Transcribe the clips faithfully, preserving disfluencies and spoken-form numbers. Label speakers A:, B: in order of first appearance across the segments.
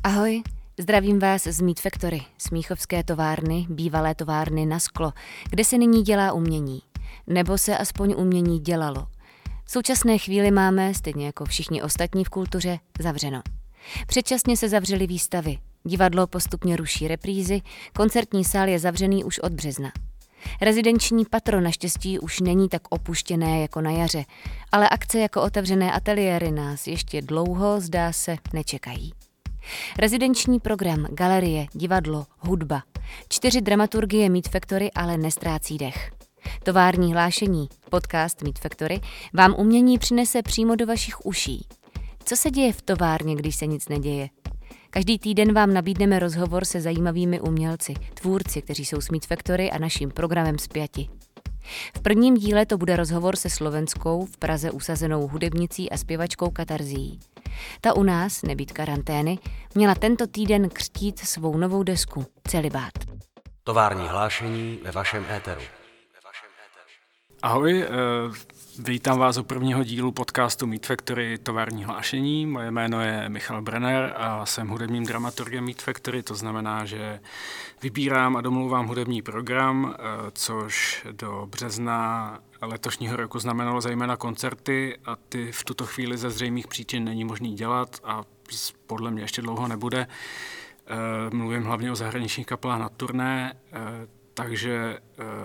A: Ahoj, zdravím vás z Meat Factory, smíchovské továrny, bývalé továrny na sklo, kde se nyní dělá umění. Nebo se aspoň umění dělalo. V současné chvíli máme, stejně jako všichni ostatní v kultuře, zavřeno. Předčasně se zavřely výstavy, divadlo postupně ruší reprízy, koncertní sál je zavřený už od března. Rezidenční patro naštěstí už není tak opuštěné jako na jaře, ale akce jako otevřené ateliéry nás ještě dlouho, zdá se, nečekají. Rezidenční program, galerie, divadlo, hudba. Čtyři dramaturgie Meat Factory ale nestrácí dech. Tovární hlášení, podcast Meat Factory, vám umění přinese přímo do vašich uší. Co se děje v továrně, když se nic neděje? Každý týden vám nabídneme rozhovor se zajímavými umělci, tvůrci, kteří jsou s Meat Factory a naším programem spjati. V prvním díle to bude rozhovor se slovenskou, v Praze usazenou hudebnicí a zpěvačkou Katarzí. Ta u nás, nebýt karantény, měla tento týden křtít svou novou desku Celibát.
B: Tovární hlášení ve vašem éteru.
C: Ahoj, vítám vás u prvního dílu podcastu Meat Factory Tovární hlášení. Moje jméno je Michal Brenner a jsem hudebním dramaturgem Meat Factory, to znamená, že vybírám a domlouvám hudební program, což do března letošního roku znamenalo zejména koncerty a ty v tuto chvíli ze zřejmých příčin není možný dělat a podle mě ještě dlouho nebude. Mluvím hlavně o zahraničních kapelách na turné, takže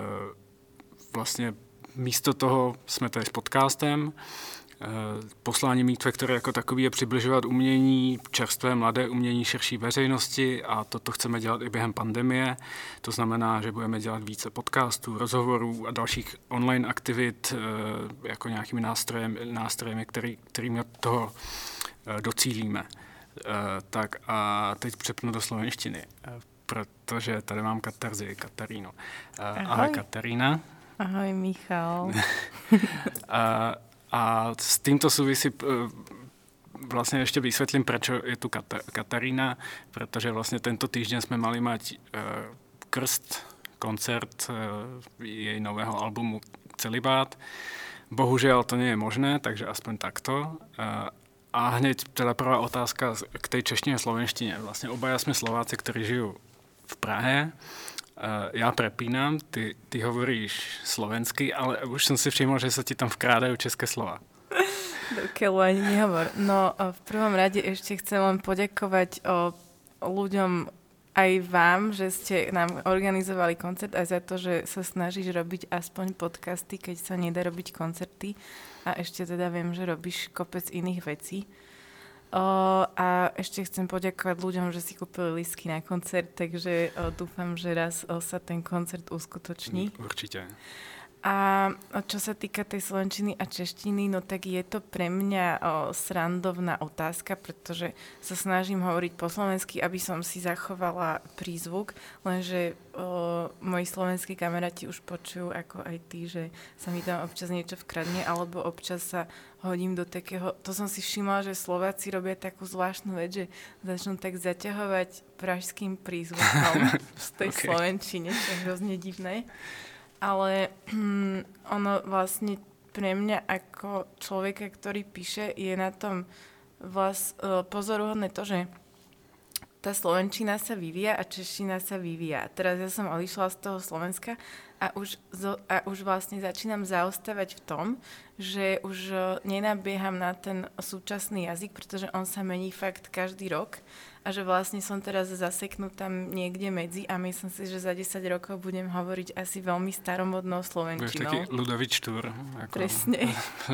C: vlastně místo toho jsme tady s podcastem. Poslání Meat Factory jako takový je přibližovat umění, čerstvé mladé umění širší veřejnosti a toto chceme dělat i během pandemie. To znamená, že budeme dělat více podcastů, rozhovorů a dalších online aktivit jako nějakými nástrojem, nástrojemi, který, kterými toho docílíme. Tak a teď přepnu do slovenštiny, protože tady mám Katarzii, Katarínu. Ahoj, Ahoj Katarína.
D: Ahoj, Michal.
C: a, a s týmto souvisí vlastně ještě vysvětlím, proč je tu Katarína, protože vlastně tento týždeň jsme mali mať uh, krst, koncert uh, jej nového albumu Celibát. Bohužel to nie je možné, takže aspoň takto. Uh, a hneď teda prvá otázka k tej češtině a slovenštině. Vlastně obaja jsme Slováci, kteří žijou v Prahe. Já prepínám, ty, ty hovoríš slovensky, ale už som si všimol, že sa ti tam vkrádajú české slova.
D: Dokiaľ ani nehovor. No, v prvom rade ešte chcem len poďakovať o, o ľuďom aj vám, že ste nám organizovali koncert a za to, že sa snažíš robiť aspoň podcasty, keď sa nedá robiť koncerty. A ešte teda viem, že robíš kopec iných vecí. O, a ešte chcem poďakovať ľuďom, že si kúpili lístky na koncert, takže o, dúfam, že raz o, sa ten koncert uskutoční.
C: Určite.
D: A čo sa týka tej slovenčiny a češtiny, no tak je to pre mňa o, srandovná otázka, pretože sa snažím hovoriť po slovensky, aby som si zachovala prízvuk, lenže o, moji slovenskí kamaráti už počujú, ako aj ty, že sa mi tam občas niečo vkradne, alebo občas sa hodím do takého, to som si všimla, že Slováci robia takú zvláštnu vec, že začnú tak zaťahovať pražským prízvukom z tej okay. slovenčine, čo je hrozne divné. Ale hm, ono vlastne pre mňa ako človeka, ktorý píše, je na tom vlast, pozoruhodné to, že tá slovenčina sa vyvíja a čeština sa vyvíja. Teraz ja som odišla z toho Slovenska a už, a už vlastne začínam zaostávať v tom, že už nenabieham na ten súčasný jazyk, pretože on sa mení fakt každý rok a že vlastne som teraz zaseknutá niekde medzi a myslím si, že za desať rokov budem hovoriť asi veľmi staromodnou slovenčinou.
C: Budeš taký Ludovič Štúr. Ako...
D: Presne.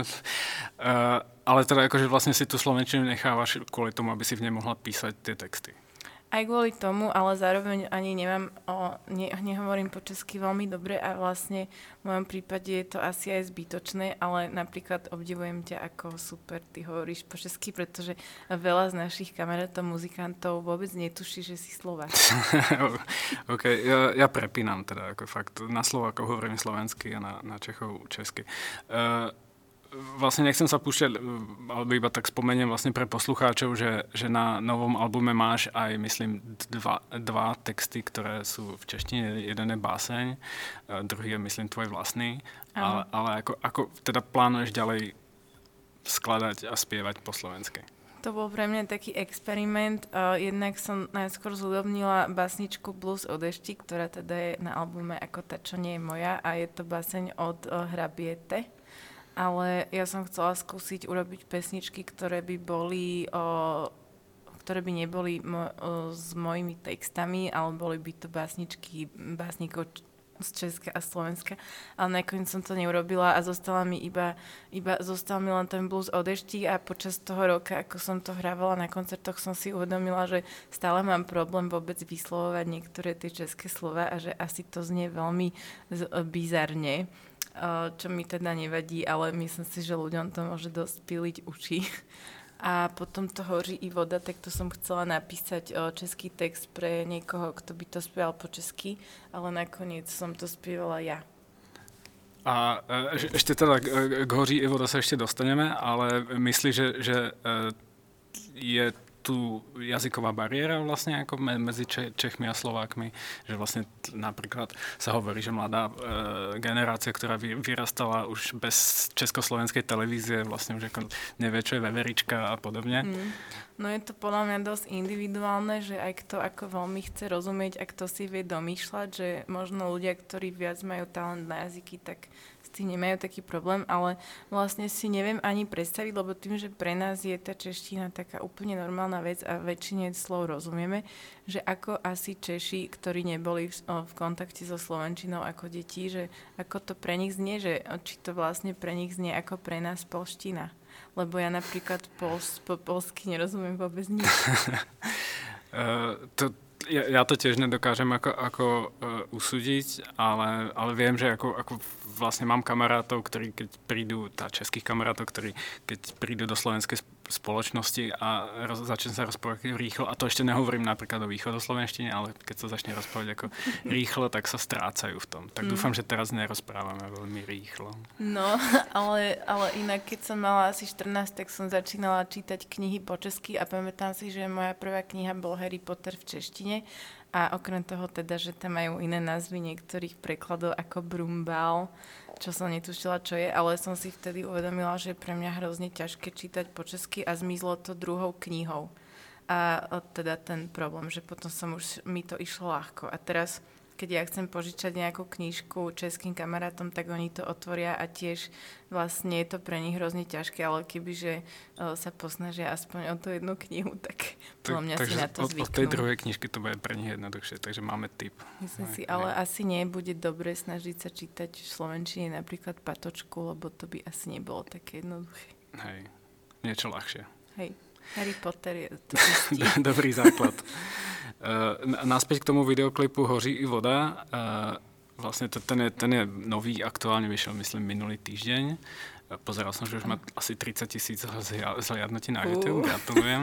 C: uh, ale teda akože vlastne si tú slovenčinu nechávaš kvôli tomu, aby si v nej mohla písať tie texty.
D: Aj kvôli tomu, ale zároveň ani nemám, o, ne, nehovorím po česky veľmi dobre a vlastne v mojom prípade je to asi aj zbytočné, ale napríklad obdivujem ťa, ako super ty hovoríš po česky, pretože veľa z našich kamarátov, muzikantov vôbec netuší, že si Slovák.
C: OK, ja, ja prepínam teda, ako fakt, na Slovákov hovorím slovensky a na, na Čechov česky. Uh, Vlastne nechcem sa púšťať, ale iba tak spomeniem vlastne pre poslucháčov, že, že na novom albume máš aj, myslím, dva, dva texty, ktoré sú v češtine. Jeden je báseň, druhý je, myslím, tvoj vlastný. Ale, ale ako, ako teda plánuješ ďalej skladať a spievať po slovensky?
D: To bol pre mňa taký experiment. Uh, jednak som najskôr zhudobnila básničku Blues o dešti, ktorá teda je na albume Ako tá, čo nie je moja a je to báseň od uh, Hrabiete. Ale ja som chcela skúsiť urobiť pesničky, ktoré by boli... Uh, ktoré by neboli mo- uh, s mojimi textami, ale boli by to básničky básnikov z Česka a Slovenska, ale nakoniec som to neurobila a zostala mi iba, iba zostal mi len ten blues o dešti a počas toho roka, ako som to hrávala na koncertoch, som si uvedomila, že stále mám problém vôbec vyslovovať niektoré tie české slova a že asi to znie veľmi z- bizarne, čo mi teda nevadí, ale myslím si, že ľuďom to môže dosť piliť uši. A potom to Hoří i voda, tak to som chcela napísať o, český text pre niekoho, kto by to spieval po česky, ale nakoniec som to spievala ja.
C: A e, ešte teda k, k Hoří i voda sa ešte dostaneme, ale myslíš, že, že e, je tu jazyková bariéra vlastne ako me, medzi Če, Čechmi a Slovákmi, že vlastne t- napríklad sa hovorí, že mladá e, generácia, ktorá vy, vyrastala už bez československej televízie, vlastne už ako nevie, čo je veverička a podobne. Mm.
D: No je to podľa mňa dosť individuálne, že aj kto ako veľmi chce rozumieť a kto si vie domýšľať, že možno ľudia, ktorí viac majú talent na jazyky, tak s tým nemajú taký problém, ale vlastne si neviem ani predstaviť, lebo tým, že pre nás je tá čeština taká úplne normálna vec a väčšine slov rozumieme, že ako asi Češi, ktorí neboli v, v kontakte so slovenčinou ako deti, že ako to pre nich znie, že či to vlastne pre nich znie ako pre nás polština. Lebo ja napríklad pols, po polsky nerozumiem vôbec nič.
C: uh, to, ja, ja to tiež nedokážem ako, ako uh, usúdiť, ale, ale viem, že ako, ako vlastne mám kamarátov, ktorí keď prídu, tá českých kamarátov, ktorí keď prídu do slovenskej spoločnosti a roz, začne sa rozprávať rýchlo, a to ešte nehovorím napríklad o východoslovenštine, ale keď sa začne rozprávať ako rýchlo, tak sa strácajú v tom. Tak mm. dúfam, že teraz nerozprávame veľmi rýchlo.
D: No, ale, ale inak, keď som mala asi štrnásť, tak som začínala čítať knihy po česky a pamätám si, že moja prvá kniha bol Harry Potter v češtine a okrem toho teda, že tam majú iné názvy niektorých prekladov ako Brumbál, čo som netušila, čo je, ale som si vtedy uvedomila, že je pre mňa hrozne ťažké čítať po česky a zmizlo to druhou knihou. A teda ten problém, že potom som už, mi to išlo ľahko. A teraz, keď ja chcem požičať nejakú knižku českým kamarátom, tak oni to otvoria a tiež vlastne je to pre nich hrozne ťažké, ale kebyže uh, sa posnažia aspoň o tú jednu knihu, tak podľa mňa
C: tak,
D: si na to
C: od,
D: zvyknú.
C: od tej druhej knižky to bude pre nich jednoduchšie, takže máme tip.
D: Myslím si, ale ne. asi nebude dobre snažiť sa čítať v slovenčine napríklad Patočku, lebo to by asi nebolo také jednoduché.
C: Hej, niečo ľahšie.
D: Hej, Harry Potter je to istý.
C: Dobrý základ. Uh, naspäť k tomu videoklipu Hoří i voda. Uh, vlastne to, ten, je, ten je nový, aktuálne vyšiel, myslím, minulý týždeň. Uh, pozeral som, že už má asi tridsať tisíc zhliadnutí na YouTube. Uh. Gratulujem.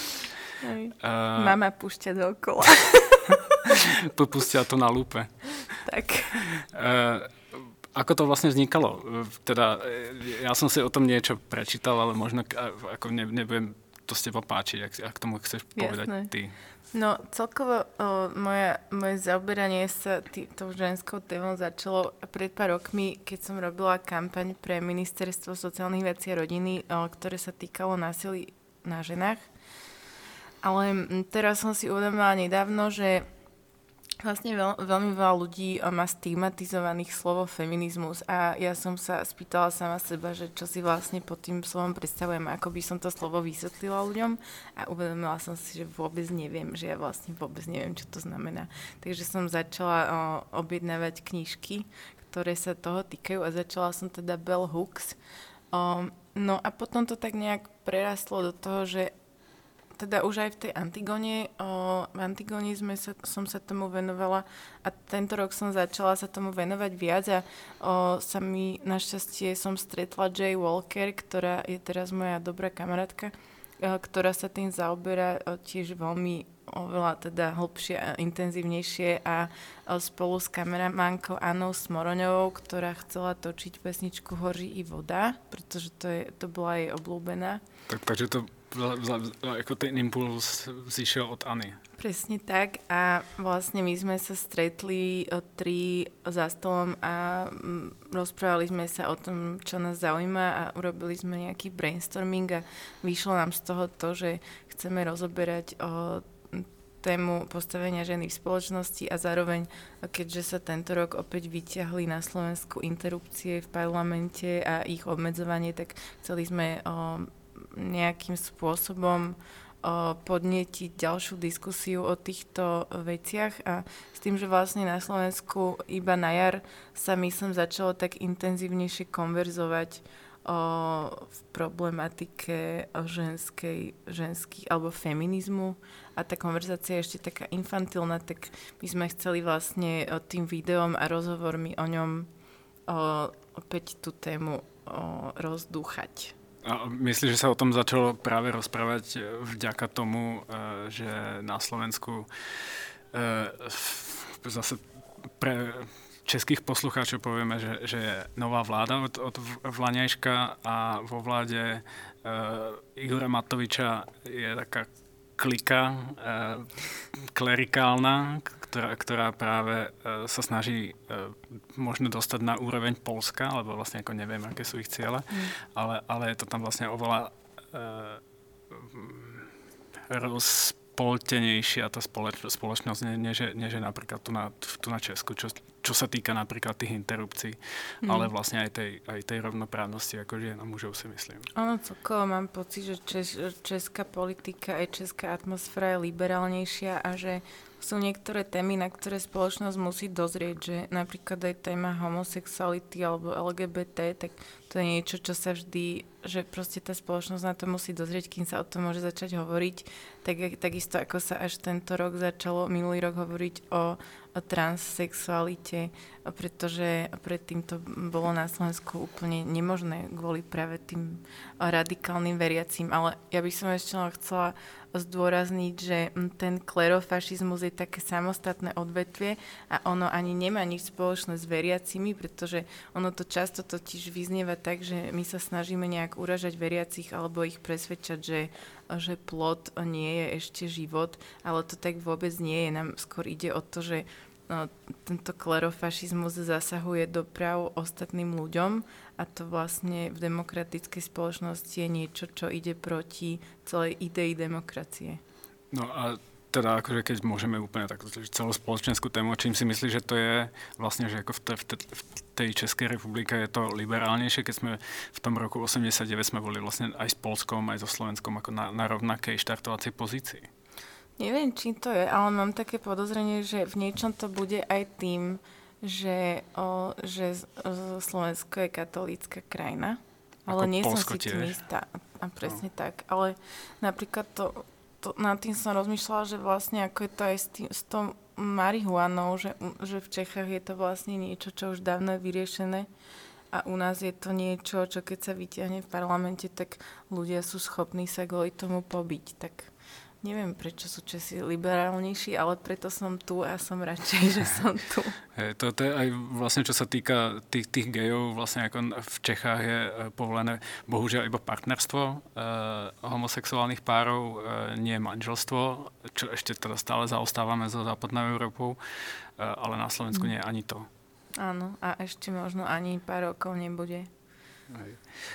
C: Uh,
D: Mama púšťa dookola.
C: Pustila to na lúpe.
D: Tak.
C: Uh, ako to vlastne vznikalo? Teda, ja som si o tom niečo prečítal, ale možno ako ne, nebudem to s teba páčiť, ak, ak tomu chceš povedať Jasné. Ty.
D: No celkovo o, moja, moje zaoberanie sa tý, tou ženskou témou začalo pred pár rokmi, keď som robila kampaň pre Ministerstvo sociálnych vecí a rodiny, o, ktoré sa týkalo násilí na ženách. Ale m, teraz som si uvedomila nedávno, že vlastne veľ, veľmi veľa ľudí má stigmatizovaných slovo feminizmus a ja som sa spýtala sama seba, že čo si vlastne pod tým slovom predstavujem, ako by som to slovo vysvetlila ľuďom a uvedomila som si, že vôbec neviem, že ja vlastne vôbec neviem, čo to znamená. Takže som začala o, objednávať knižky, ktoré sa toho týkajú a začala som teda Bell Hooks. O, no a potom to tak nejak prerastlo do toho, že teda už aj v tej Antigone, o, v Antigone sme sa, som sa tomu venovala a tento rok som začala sa tomu venovať viac a o, sa mi našťastie som stretla Jay Walker, ktorá je teraz moja dobrá kamarátka, o, ktorá sa tým zaoberá o, tiež veľmi oveľa teda hlbšie a intenzívnejšie a o, spolu s kameramánkou Annou Smoroňovou, ktorá chcela točiť pesničku Hoří i voda, pretože to, je, to bola jej obľúbená.
C: Tak, takže to ako ten impuls zišiel od Anny.
D: Presne tak a vlastne my sme sa stretli tri za stolom a rozprávali sme sa o tom, čo nás zaujíma a urobili sme nejaký brainstorming a vyšlo nám z toho to, že chceme rozoberať o tému postavenia ženy v spoločnosti a zároveň, keďže sa tento rok opäť vyťahli na Slovensku interrupcie v parlamente a ich obmedzovanie, tak chceli sme o, nejakým spôsobom podnietiť ďalšiu diskusiu o týchto veciach a s tým, že vlastne na Slovensku iba na jar sa myslím začalo tak intenzívnejšie konverzovať o, v problematike o ženskej, ženských alebo feminizmu a tá konverzácia je ešte taká infantilná, tak my sme chceli vlastne tým videom a rozhovormi o ňom o, opäť tú tému o, rozdúchať.
C: A myslíš, že sa o tom začalo práve rozprávať vďaka tomu, že na Slovensku zase pre českých poslucháčov povieme, že, že je nová vláda od, od vlaňajška a vo vláde Igora Matoviča je taká klika klerikálna, ktorá, ktorá práve sa snaží možno dostať na úroveň Poľska, lebo vlastne ako neviem, aké sú ich ciele, mm. ale, ale je to tam vlastne oveľa rozpoltenejšia tá spoloč, spoločnosť, než, než je napríklad tu na, tu na Česku, čo, čo sa týka napríklad tých interrupcií, mm. ale vlastne aj tej, aj tej rovnoprávnosti ako žien a mužov si myslím.
D: Ono celkovo mám pocit, že čes, česká politika aj česká atmosféra je liberálnejšia a že sú niektoré témy, na ktoré spoločnosť musí dozrieť, že napríklad aj téma homosexuality alebo el gé bé té, tak to je niečo, čo sa vždy, že proste tá spoločnosť na to musí dozrieť, kým sa o tom môže začať hovoriť. Tak, takisto ako sa až tento rok začalo, minulý rok hovoriť o, o transsexualite, pretože predtým to bolo na Slovensku úplne nemožné kvôli práve tým radikálnym veriacím. Ale ja by som ešte chcela zdôrazniť, že ten klerofašizmus je také samostatné odvetvie a ono ani nemá nič spoločné s veriacimi, pretože ono to často totiž vyznieva tak, že my sa snažíme nejak uražať veriacich alebo ich presvedčať, že, že plod nie je ešte život, ale to tak vôbec nie je. Nám skôr ide o to, že no, tento klerofašizmus zasahuje do práv ostatným ľuďom a to vlastne v demokratickej spoločnosti je niečo, čo ide proti celej idei demokracie.
C: No a teda akože keď môžeme úplne takto celospoločenskú tému, čím si myslíš, že to je vlastne, že ako v, te, v, te, v tej Českej republike je to liberálnejšie, keď sme v tom roku osemdesiatdeväť sme boli vlastne aj s Poľskom, aj so Slovenskom ako na, na rovnakej štartovacej pozícii?
D: Neviem, čím to je, ale mám také podozrenie, že v niečom to bude aj tým, že, o, že Slovensko je katolícka krajina, ale ako nie Polsko som si tým istá. A presne no. tak. Ale napríklad to, to, nad tým som rozmýšľala, že vlastne ako je to aj s, tým, s tou marihuanou, že, že v Čechách je to vlastne niečo, čo už dávno je vyriešené a u nás je to niečo, čo keď sa vyťahne v parlamente, tak ľudia sú schopní sa kvôli tomu pobiť. Tak neviem, prečo sú Česi liberálnejší, ale preto som tu a som radšej, že som tu.
C: Hey, to, to je aj vlastne, čo sa týka tých, tých gejov, vlastne ako v Čechách je povolené bohužiaľ iba partnerstvo e, homosexuálnych párov, e, nie manželstvo, čo ešte teda stále zaostávame za západnou Európou, e, ale na Slovensku mm. nie je ani to.
D: Áno, a ešte možno ani pár rokov nebude.
C: Hej.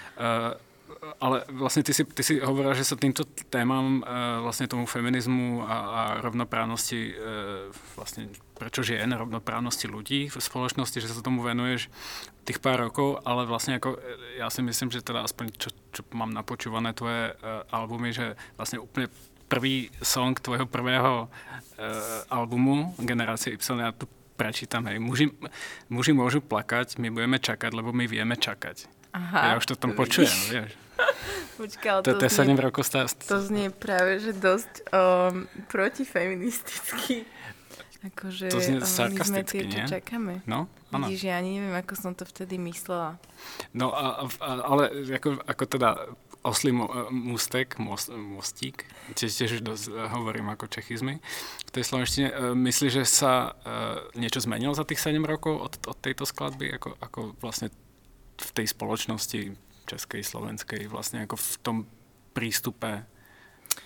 C: E, Ale vlastne ty si, ty si hovorila, že sa týmto témam, vlastne tomu feminizmu a, a rovnoprávnosti, vlastne prečo žien, rovnoprávnosti ľudí v spoločnosti, že sa tomu venuješ tých pár rokov, ale vlastne ako, ja si myslím, že teda aspoň čo, čo mám napočúvané tvoje albumy, že vlastne úplne prvý song tvojho prvého albumu Generácie Y, ja tu prečítam, hej, muži, muži môžu plakať, my budeme čakať, lebo my vieme čakať. Aha, ja už to tam počujem, vieš.
D: Počkaj,
C: to, to, to, znie, rokov stá...
D: to znie práve, že dosť um, protifeministicky. Akože
C: to znie sarkasticky,
D: nie? My sme tie, čo čakáme.
C: No, áno.
D: Vidíš, ja ani neviem, ako som to vtedy myslela.
C: No, a, a, ale ako, ako teda oslý mústek, most, mostík, tiež, tiež dosť hovorím ako čechizmy v tej slovenštine. Myslíš, že sa uh, niečo zmenilo za tých sedem rokov od, od tejto skladby? Ako, ako vlastne v tej spoločnosti českej, slovenskej, vlastne ako v tom prístupe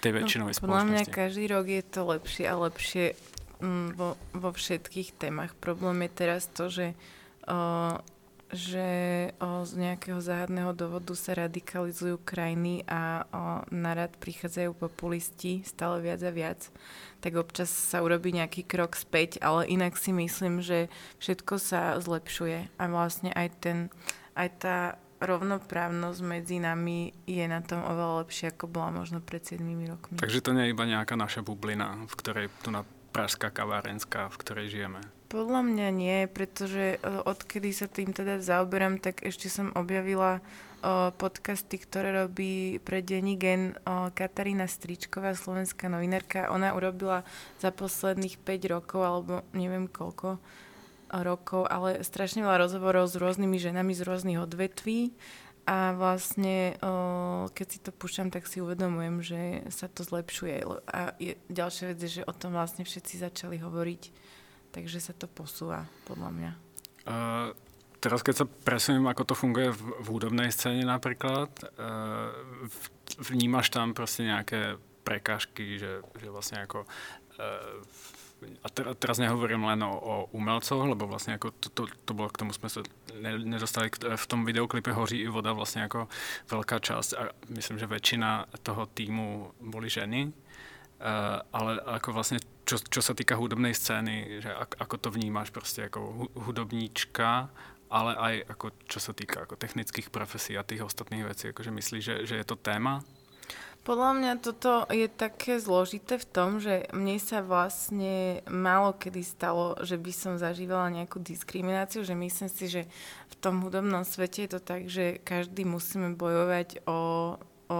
C: tej väčšinovej
D: no, podľa mňa
C: spoločnosti.
D: každý rok je to lepšie a lepšie mm, vo, vo všetkých témach. Problém je teraz to, že, o, že o, z nejakého záhadného dôvodu sa radikalizujú krajiny a o, narad prichádzajú populisti stále viac a viac. Tak občas sa urobí nejaký krok späť, ale inak si myslím, že všetko sa zlepšuje a vlastne aj ten, aj tá rovnoprávnosť medzi nami je na tom oveľa lepšie, ako bola možno pred siedmimi rokmi.
C: Takže to nie je iba nejaká naša bublina, v ktorej tu na pražská kavárenská, v ktorej žijeme.
D: Podľa mňa nie, pretože odkedy sa tým teda zaoberám, tak ešte som objavila o, podcasty, ktoré robí pre denní Gen o, Katarína Stričková, slovenská novinárka. Ona urobila za posledných päť rokov, alebo neviem koľko rokov, ale strašne veľa rozhovorov s rôznymi ženami z rôznych odvetví a vlastne o, keď si to púšťam, tak si uvedomujem, že sa to zlepšuje a je, ďalšia vec je, že o tom vlastne všetci začali hovoriť, takže sa to posúva, podľa mňa.
C: Uh, teraz keď sa presuniem, ako to funguje v, v hudobnej scéne napríklad, uh, vnímaš tam proste nejaké prekážky, že, že vlastne ako uh, a teraz nehovorím len o, o umelcoch, lebo vlastne ako to, to, to bolo, k tomu sme sa nedostali, v tom videoklipe Hoří i voda vlastne ako veľká časť a myslím, že väčšina toho týmu boli ženy, uh, ale ako vlastne, čo, čo sa týka hudobnej scény, že ak, ako to vnímáš proste ako hudobníčka, ale aj ako, čo sa týka ako technických profesí a tých ostatných vecí, akože myslíš, že, že je to téma?
D: Podľa mňa toto je také zložité v tom, že mne sa vlastne málo kedy stalo, že by som zažívala nejakú diskrimináciu, že myslím si, že v tom hudobnom svete je to tak, že každý musíme bojovať o, o,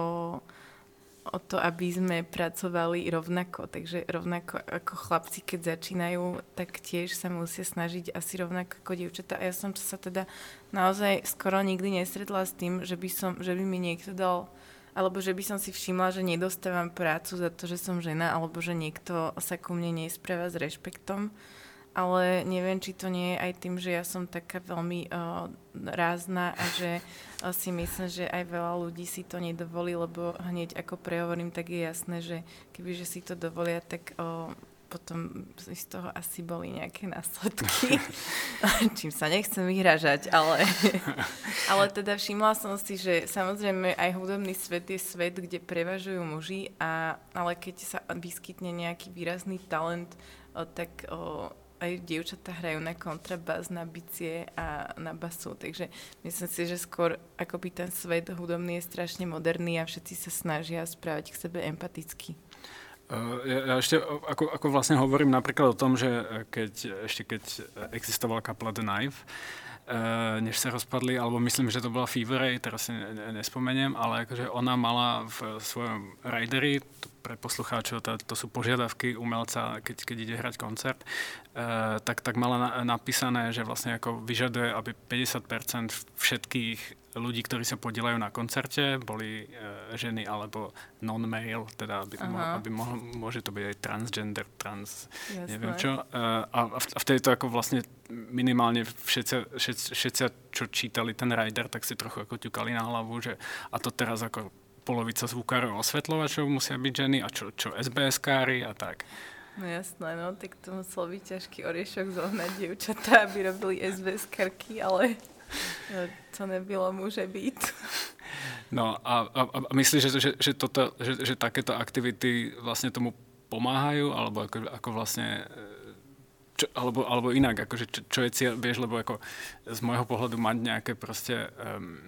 D: o to, aby sme pracovali rovnako. Takže rovnako ako chlapci, keď začínajú, tak tiež sa musia snažiť asi rovnako ako dievčatá. A ja som sa teda naozaj skoro nikdy nestretla s tým, že by, som, že by mi niekto dal alebo že by som si všimla, že nedostávam prácu za to, že som žena, alebo že niekto sa ku mne nespráva s rešpektom. Ale neviem, či to nie je aj tým, že ja som taká veľmi uh, rázna a že uh, si myslím, že aj veľa ľudí si to nedovolí, lebo hneď ako prehovorím, tak je jasné, že kebyže si to dovolia, tak uh, potom z toho asi boli nejaké následky, čím sa nechcem vyhražať, ale, ale teda všimla som si, že samozrejme aj hudobný svet je svet, kde prevažujú muži, a, ale keď sa vyskytne nejaký výrazný talent, o, tak o, aj dievčatá hrajú na kontrabás, na bicie a na basu, takže myslím si, že skôr akoby ten svet hudobný je strašne moderný a všetci sa snažia správať k sebe empaticky.
C: Ja, ja ešte ako, ako vlastne hovorím napríklad o tom, že keď, ešte keď existovala kapela The Knife, uh, než sa rozpadli, alebo myslím, že to bola Fever Ray, teraz si nespomeniem, ale akože ona mala v svojom rideri, pre poslucháčov, to, to sú požiadavky umelca, keď, keď ide hrať koncert, uh, tak, tak mala na, napísané, že vlastne ako vyžaduje, aby päťdesiat percent všetkých ľudí, ktorí sa podielajú na koncerte, boli uh, ženy alebo non-male, teda aby, mo- aby mohlo, môže to byť aj transgender, trans, Jasné. neviem čo. Uh, a, a vtedy to ako vlastne minimálne všetci, všetci, všetci, čo čítali ten rider, tak si trochu ako ťukali na hlavu, že a to teraz ako polovica zvukárov osvetľovačov musia byť ženy a čo, čo es bé eskári a tak.
D: No jasné, no, tak to musel byť ťažký oriešok zohnať dievčatá, aby robili es bé eskarky, ale no, to nebylo môže byť.
C: No a, a, a myslíš, že, že, že, toto, že, že takéto aktivity vlastne tomu pomáhajú, alebo ako, ako vlastne, čo, alebo, alebo inak, akože čo, čo je cieľ, vieš, lebo ako z môjho pohľadu mať nejaké proste um,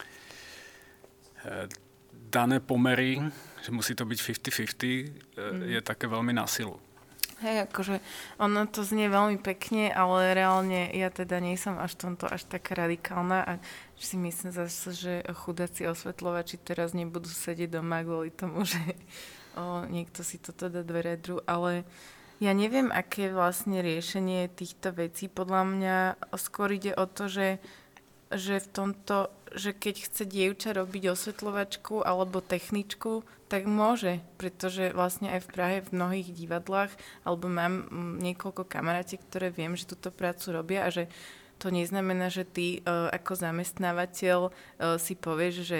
C: dané pomery, že musí to byť päťdesiat päťdesiat, mm. je také veľmi na silu.
D: Hej, akože ono to znie veľmi pekne, ale reálne ja teda nie som až tomto až taká radikálna a si myslím zase, že chudáci osvetľovači teraz nebudú sedieť doma kvôli tomu, že o, niekto si toto dá do redru, ale ja neviem, aké je vlastne riešenie týchto vecí. Podľa mňa skôr ide o to, že že v tomto, že keď chce dievča robiť osvetľovačku alebo techničku, tak môže, pretože vlastne aj v Prahe v mnohých divadlách, alebo mám niekoľko kamarátiek, ktoré viem, že túto prácu robia a že to neznamená, že ty uh, ako zamestnávateľ uh, si povieš, že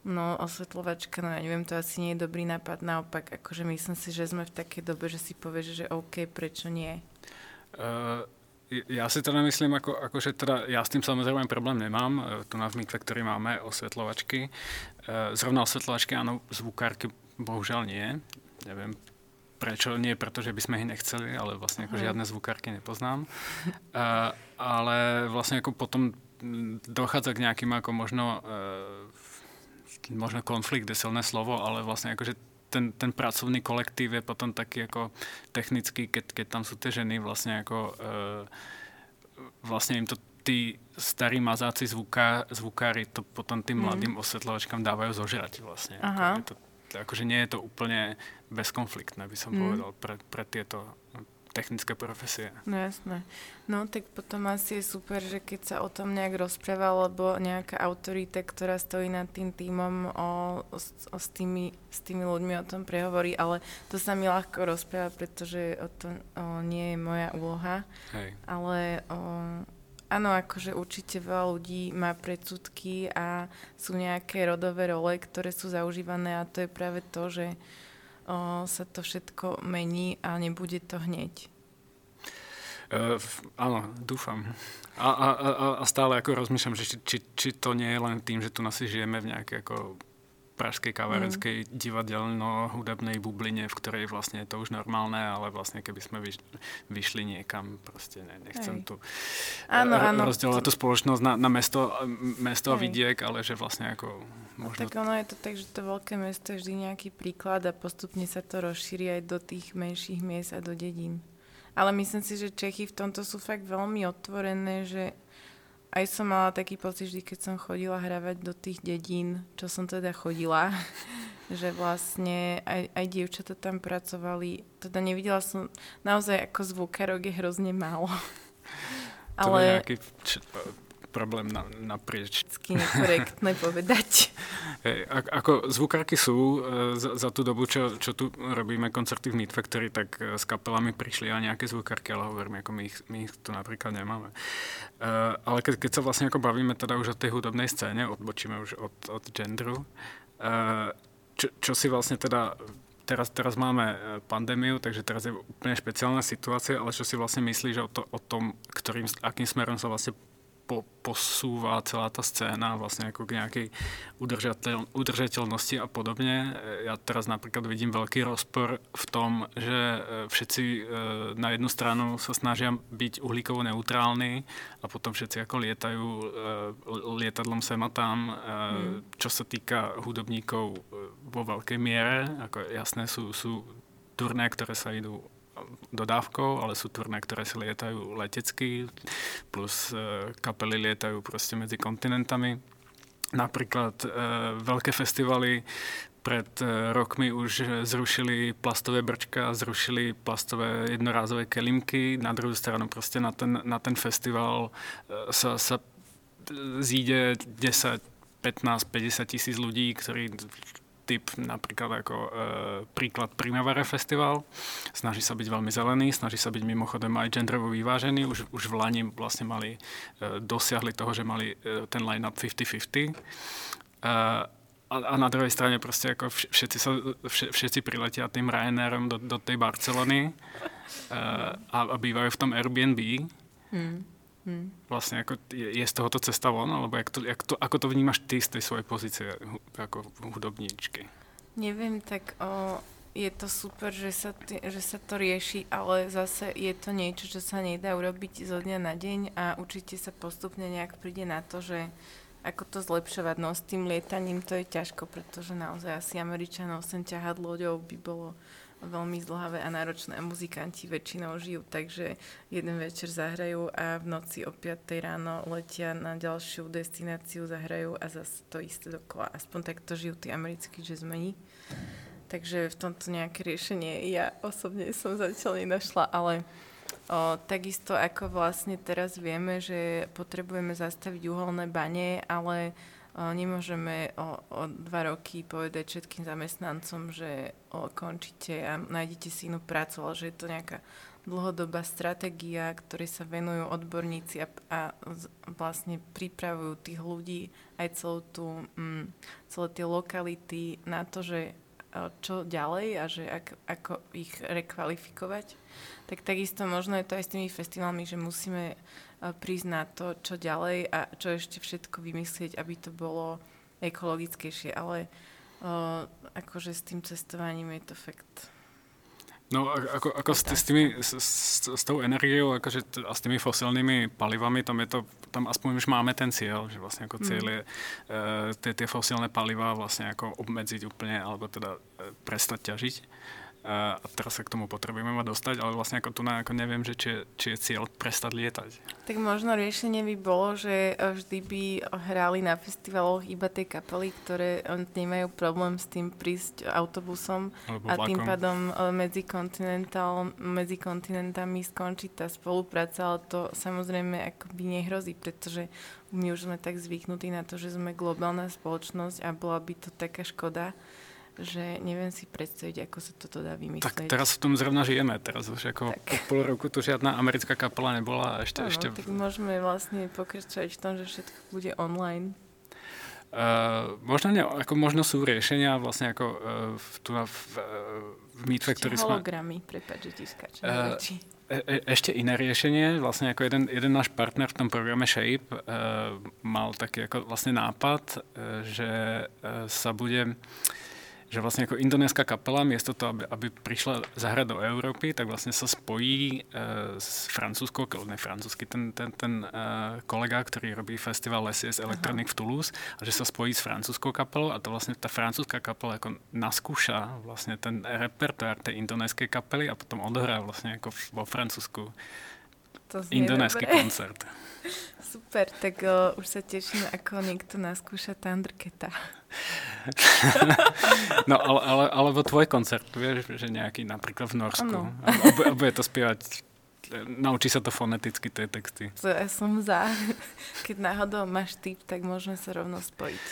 D: No, osvetľovačka, no ja neviem, to asi nie je dobrý nápad. Naopak, akože myslím si, že sme v takej dobe, že si povieš, že OK, prečo nie?
C: Uh, ja si teda myslím, ako, ako, že teda ja s tým samozrejme problém nemám. Tu na Meet Factory máme osvetľovačky. Uh, zrovna osvetľovačky, áno, zvukárky bohužiaľ nie. Neviem prečo, nie preto, že by sme ich nechceli, ale vlastne ako žiadne zvukárky nepoznám. Uh, ale vlastne ako potom dochádza k nejakým ako možno uh, možno konflikt je silné slovo, ale vlastne akože ten, ten pracovný kolektív je potom taký ako technický, keď, keď tam sú tie ženy, vlastne ako e, vlastne im to tí starí mazáci zvuká, zvukári to potom tým mladým mm. osvetľovačkám dávajú zožrať vlastne. Ako, to, akože nie je to úplne bezkonfliktné, by som mm. povedal, pre, pre tieto technické profesie.
D: No jasné. No tak potom asi je super, že keď sa o tom nejak rozpráva, alebo nejaká autorita, ktorá stojí nad tým tímom, o, o, o s, tými, s tými ľuďmi o tom prehovorí, ale to sa mi ľahko rozpráva, pretože o to o, nie je moja úloha.
C: Hej.
D: Ale o, áno, akože určite veľa ľudí má predsudky a sú nejaké rodové role, ktoré sú zaužívané a to je práve to, že O, sa to všetko mení a nebude to hneď.
C: Uh, áno, dúfam. A, a, a, a stále ako rozmýšľam, že či, či, či to nie je len tým, že tu nás žijeme v nejakej ako pražskej kavárenskej mm. divadelno-hudebnej bubline, v ktorej vlastne je to už normálne, ale vlastne keby sme vyš, vyšli niekam, proste ne, nechcem Hej. tu
D: áno, áno.
C: rozdielovať tú spoločnosť na, na mesto, mesto a vidiek, ale že vlastne ako možno...
D: Tak ono je to tak, že to veľké mesto je vždy nejaký príklad a postupne sa to rozšíri aj do tých menších miest a do dedín. Ale myslím si, že Čechy v tomto sú fakt veľmi otvorené, že aj som mala taký pocit vždy, keď som chodila hravať do tých dedín, čo som teda chodila, že vlastne aj, aj dievčatá tam pracovali. Teda nevidela som, naozaj ako zvukárok je hrozne málo.
C: To ale... je nejaký č- problém na, naprieč.
D: Vždycky nekorektné povedať.
C: Hey, ako zvukárky sú, za, za tú dobu, čo, čo tu robíme koncerty v Meet Factory, tak s kapelami prišli aj nejaké zvukárky, ale hovorím, ako my ich, my ich tu napríklad nemáme. Uh, ale keď, keď sa vlastne ako bavíme teda už o tej hudobnej scéne, odbočíme už od, od genderu, uh, čo, čo si vlastne teda Teraz, teraz máme pandémiu, takže teraz je úplne špeciálna situácia, ale čo si vlastne myslíš o, to, o tom, ktorým, akým smerom sa vlastne po, posúva celá tá scéna vlastne ako k nejakej udržateľ, udržateľnosti a podobne. Ja teraz napríklad vidím veľký rozpor v tom, že všetci e, na jednu stranu sa snažia byť uhlíkovo neutrálni a potom všetci ako lietajú e, lietadlom sem a tam, e, mm. čo sa týka hudobníkov vo veľkej miere. Ako jasné sú, sú turné, ktoré sa idú dodávkou, ale sú turné, ktoré si lietajú letecky, plus e, kapely lietajú proste medzi kontinentami. Napríklad e, veľké festivaly pred e, rokmi už zrušili plastové brčka, zrušili plastové jednorázové kelímky. Na druhú stranu proste na ten, na ten festival e, sa, sa zíde desať, pätnásť, päťdesiat tisíc ľudí, ktorí typ napríklad ako e, príklad Primavera Festival. Snaží sa byť veľmi zelený, snaží sa byť mimochodom aj genderovo vyvážený. Už, už v Lani vlastne mali, e, dosiahli toho, že mali e, ten line-up päťdesiat päťdesiat. E, a, a na druhej strane proste ako všetci, sa, všetci priletia tým Ryanairom do, do tej Barcelony e, a, a bývajú v tom Airbnb. Hmm. Hmm. Vlastne ako je, je z tohoto cesta von, alebo jak to, jak to, ako to vnímaš ty z tej svojej pozície ako hudobníčky?
D: Neviem, tak o, je to super, že sa, t- že sa to rieši, ale zase je to niečo, čo sa nedá urobiť zo dňa na deň a určite sa postupne nejak príde na to, že ako to zlepšovať. No s tým lietaním to je ťažko, pretože naozaj asi Američanov sem ťahať loďou by bolo veľmi zdĺhavé a náročné a muzikanti väčšinou žijú, takže jeden večer zahrajú a v noci o piatej ráno letia na ďalšiu destináciu, zahrajú a zase to isté dokola. Aspoň takto žijú tí americkí jazzmeni. Takže v tomto nejaké riešenie ja osobne som zatiaľ nenašla, ale o, takisto ako vlastne teraz vieme, že potrebujeme zastaviť uholné bane, ale Nemôžeme o, o dva roky povedať všetkým zamestnancom, že o, končíte a nájdete si inú prácu, ale že je to nejaká dlhodobá stratégia, ktorej sa venujú odborníci a, a vlastne pripravujú tých ľudí aj celú tú, mm, celé tie lokality na to, že čo ďalej a že ak, ako ich rekvalifikovať. Tak takisto možno je to aj s tými festivalmi, že musíme prísť na to, čo ďalej a čo ešte všetko vymyslieť, aby to bolo ekologickejšie. Ale uh, akože s tým cestovaním je to fakt...
C: No ako, ako s, s, tými, s, s, s tou energiou akože t- a s tými fosilnými palivami, tam je to, tam aspoň už máme ten cieľ, že vlastne ako cieľ je mm. tie fosilné paliva vlastne ako obmedziť úplne, alebo teda prestať ťažiť. A teraz sa k tomu potrebujeme mať dostať, ale vlastne ako tu na, ako neviem, že či je, či je cieľ prestať lietať. Tak
D: možno riešenie by bolo, že vždy by hrali na festivaloch iba tie kapely, ktoré nemajú problém s tým prísť autobusom alebo a vlakom. Tým pádom medzi, medzi kontinentami skončí tá spolupráca, ale to samozrejme akoby nehrozí, pretože my už sme tak zvyknutí na to, že sme globálna spoločnosť a bola by to taká škoda, že neviem si predstaviť, ako sa toto dá vymyslieť.
C: Tak teraz v tom zrovna žijeme. Teraz už ako tak. Po pol roku tu žiadna americká kapela nebola a ešte...
D: Ano,
C: ešte...
D: tak môžeme vlastne pokračovať v tom, že všetko bude online.
C: Uh, možno, ne, ako možno sú riešenia vlastne ako uh, v, tu na, v, v Meet Factory sme...
D: hologramy, prepáč, že ti skáčem uh,
C: e, Ešte iné riešenie, vlastne ako jeden, jeden náš partner v tom programe Shape uh, mal taký ako vlastne nápad, uh, že uh, sa bude... že vlastne ako indonéska kapela, miesto toho, aby, aby prišla zahrať do Európy, tak vlastne sa spojí e, s francúzskou, ne francúzsky, ten, ten, ten e, kolega, ktorý robí festival Les Yes Electronic v Toulouse, a že sa spojí s francúzskou kapelou a to vlastne tá francúzska kapela ako naskúša vlastne ten repertoár tej indonéskej kapely a potom odohrá vlastne ako vo Francúzsku indonésky koncert.
D: Super, tak uh, už sa teším, ako niekto naskúša Thundercata.
C: No, ale, ale, alebo tvoj koncert, vieš, že nejaký napríklad v Norsku. A bude to spievať, naučí sa to foneticky, tie texty.
D: To ja som za. Keď náhodou máš tip, tak môžeme sa rovno spojiť.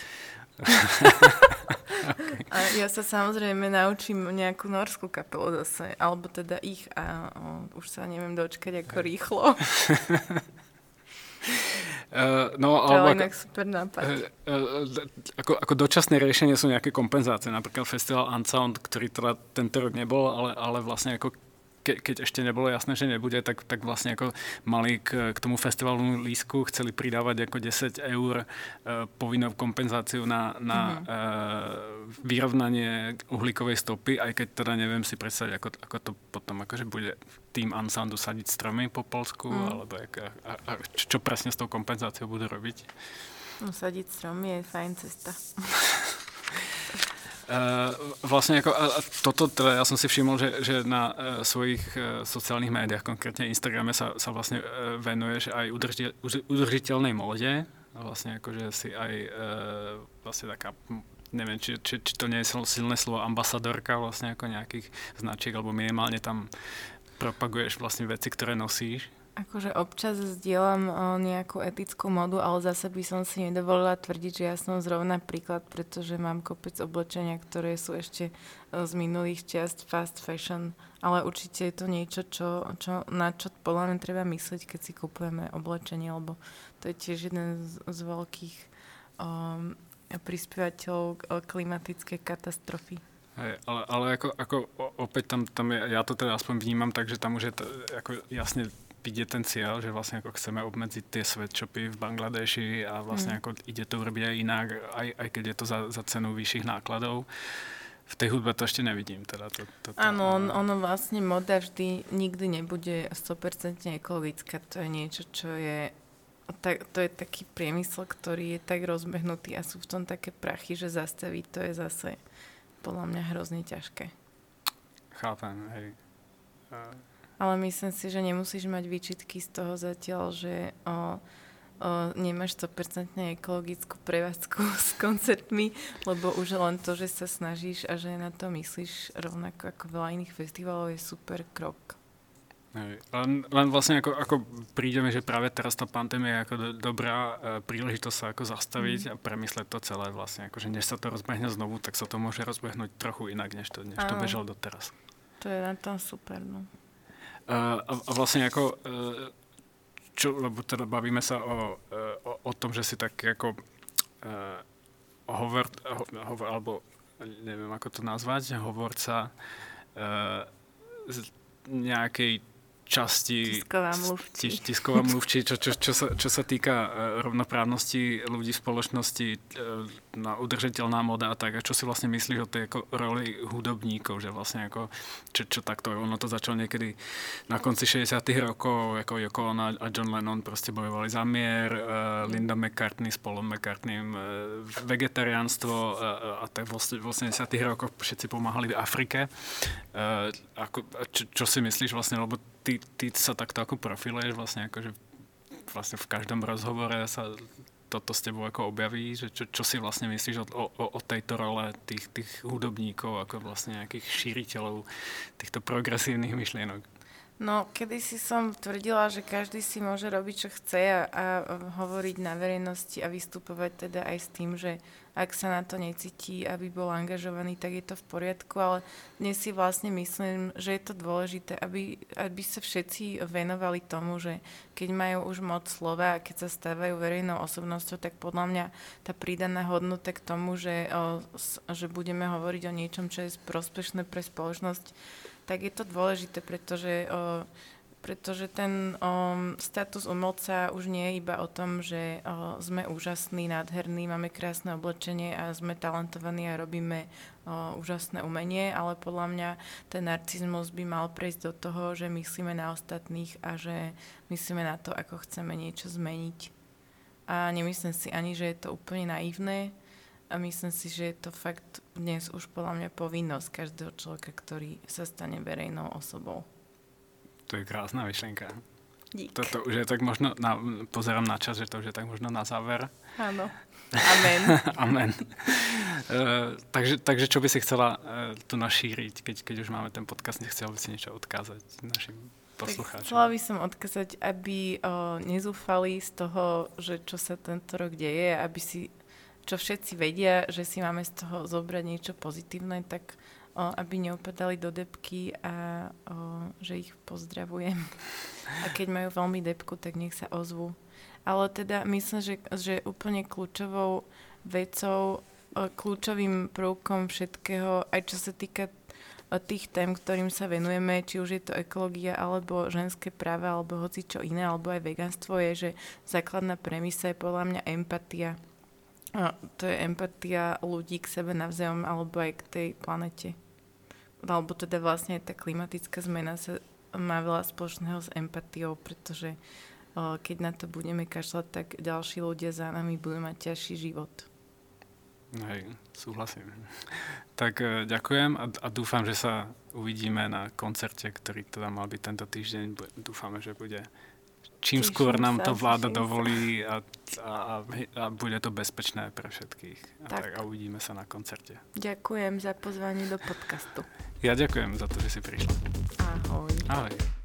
D: Okay. A ja sa samozrejme naučím nejakú norskú kapelu zase, alebo teda ich a o, už sa neviem dočkať ako rýchlo.
C: Uh, no,
D: to ale inak super nápad. Uh,
C: uh, ako, ako dočasné riešenie sú nejaké kompenzácie. Napríklad festival Unsound, ktorý teda tento rok nebol, ale, ale vlastne ako ke, keď ešte nebolo jasné, že nebude, tak, tak vlastne ako mali k, k tomu festivalu lístku, chceli pridávať ako desať eur uh, povinnou kompenzáciu na, na mm-hmm. uh, vyrovnanie uhlíkovej stopy, aj keď teda neviem si predstaviť, ako, ako to potom akože bude tým Unsoundu sadiť stromy po Polsku, mm. alebo jak, a, a čo presne s tou kompenzáciou budú robiť.
D: No, sadiť stromy je fajn cesta.
C: Uh, vlastne ako, a toto teda ja som si všimol, že, že na uh, svojich uh, sociálnych médiách, konkrétne Instagrame sa, sa vlastne uh, venuješ aj udržiteľ, udržiteľnej móde. Vlastne akože si aj uh, vlastne taká, neviem, či, či, či to nie je silné slovo, ambasadorka vlastne ako nejakých značiek, alebo minimálne tam propaguješ vlastne veci, ktoré nosíš.
D: Akože občas zdieľam o, nejakú etickú modu, ale zase by som si nedovolila tvrdiť, že ja som zrovna príklad, pretože mám kopec oblečenia, ktoré sú ešte o, z minulých čiast fast fashion, ale určite je to niečo, čo, čo, na čo podľa mňa treba myslieť, keď si kupujeme oblečenie, lebo to je tiež jeden z, z veľkých um, prispievateľov klimatickej katastrofy.
C: Hej, ale, ale ako, ako opäť tam, tam je, ja to teda aspoň vnímam, takže tam už je to, ako jasne vidieť ten cieľ, že vlastne ako chceme obmedziť tie sweatshopy v Bangladeši a vlastne mm. ako ide to urobiť aj inak, aj, aj keď je to za, za cenu vyšších nákladov. V tej hudbe to ešte nevidím. Teda to, to, to,
D: Áno, on, ono vlastne moda vždy nikdy nebude sto percent ekologická. To je niečo, čo je tak, to je taký priemysel, ktorý je tak rozbehnutý a sú v tom také prachy, že zastaviť to je zase podľa mňa hrozne ťažké.
C: Chápem, hej. Uh...
D: Ale myslím si, že nemusíš mať výčitky z toho zatiaľ, že o, o, nemáš sto percent ekologickú prevádzku s koncertmi, lebo už len to, že sa snažíš a že na to myslíš rovnako ako veľa iných festivalov je super krok.
C: Len, len vlastne ako, ako príde mi, že práve teraz tá pandémia je ako do, dobrá e, príležitosť sa ako zastaviť mm. a premysleť to celé vlastne. Akože než sa to rozbehne znovu, tak sa to môže rozbehnúť trochu inak, než to, než to bežalo doteraz.
D: To je na tom super, no.
C: E, a, a vlastne ako, e, čo, lebo teda bavíme sa o, o, o tom, že si tak ako e, hovor, ho, hovor, alebo neviem ako to nazvať, hovorca e, z nejakej časti
D: tisková mluvčí,
C: tis, tisková mluvčí čo, čo, čo, sa, čo sa týka rovnoprávnosti ľudí v spoločnosti, na udržateľná moda a tak. A čo si vlastne myslíš o tej ako roli hudobníkov, že vlastne ako, čo, čo takto, ono to začalo niekedy na konci šesťdesiatych rokov, ako Yoko Ono a John Lennon proste bojovali za mier, uh, Linda McCartney s Paulom McCartneym, uh, vegetariánstvo uh, a tak v osemdesiatych rokoch všetci pomáhali v Afrike. Uh, ako, čo, čo si myslíš vlastne, lebo ty, ty sa takto ako profiluješ vlastne akože vlastne v každom rozhovore sa toto s tebou ako objaví, že čo, čo si vlastne myslíš o, o, o tejto role tých, tých hudobníkov ako vlastne nejakých šíriteľov týchto progresívnych myšlienok?
D: No, kedysi som tvrdila, že každý si môže robiť, čo chce a, a hovoriť na verejnosti a vystupovať teda aj s tým, že ak sa na to necíti, aby bol angažovaný, tak je to v poriadku, ale dnes si vlastne myslím, že je to dôležité, aby, aby sa všetci venovali tomu, že keď majú už moc slova a keď sa stávajú verejnou osobnosťou, tak podľa mňa tá pridaná hodnota k tomu, že, o, že budeme hovoriť o niečom, čo je prospešné pre spoločnosť, tak je to dôležité, pretože, o, pretože ten o, status umelca už nie je iba o tom, že o, sme úžasní, nádherní, máme krásne oblečenie a sme talentovaní a robíme o, úžasné umenie, ale podľa mňa ten narcizmus by mal prejsť do toho, že myslíme na ostatných a že myslíme na to, ako chceme niečo zmeniť. A nemyslím si ani, že je to úplne naivné, a myslím si, že je to fakt dnes už podľa mňa povinnosť každého človeka, ktorý sa stane verejnou osobou.
C: To je krásna myšlienka.
D: Dík.
C: Toto už je tak možno, na, pozerám na čas, že to už je tak možno na záver.
D: Áno. Amen.
C: Amen. uh, takže, takže čo by si chcela uh, tu našíriť, keď, keď už máme ten podcast, nechcela by si niečo odkázať našim poslucháčom?
D: Chcela by som odkázať, aby uh, nezúfali z toho, že čo sa tento rok deje, aby si čo všetci vedia, že si máme z toho zobrať niečo pozitívne, tak o, aby neupadali do depky a o, že ich pozdravujem. A keď majú veľmi depku, tak nech sa ozvú. Ale teda myslím, že, že úplne kľúčovou vecou, o, kľúčovým prvkom všetkého, aj čo sa týka o, tých tém, ktorým sa venujeme, či už je to ekológia, alebo ženské práva, alebo hoci čo iné, alebo aj veganstvo, je, že základná premisa je podľa mňa empatia. A to je empatia ľudí k sebe navzájom alebo aj k tej planete. Alebo teda vlastne tá klimatická zmena sa má veľa spoločného s empatiou, pretože o, keď na to budeme kašľať, tak ďalší ľudia za nami budú mať ťažší život.
C: Hej, súhlasím. Tak e, ďakujem a, a dúfam, že sa uvidíme na koncerte, ktorý teda mal byť tento týždeň. Dúfame, že bude čím Teším skôr nám sa, to vláda dovolí a, a, a bude to bezpečné pre všetkých. A, tak. Tak, a uvidíme sa na koncerte.
D: Ďakujem za pozvanie do podcastu.
C: Ja ďakujem za to, že si prišla.
D: Ahoj.
C: Ahoj.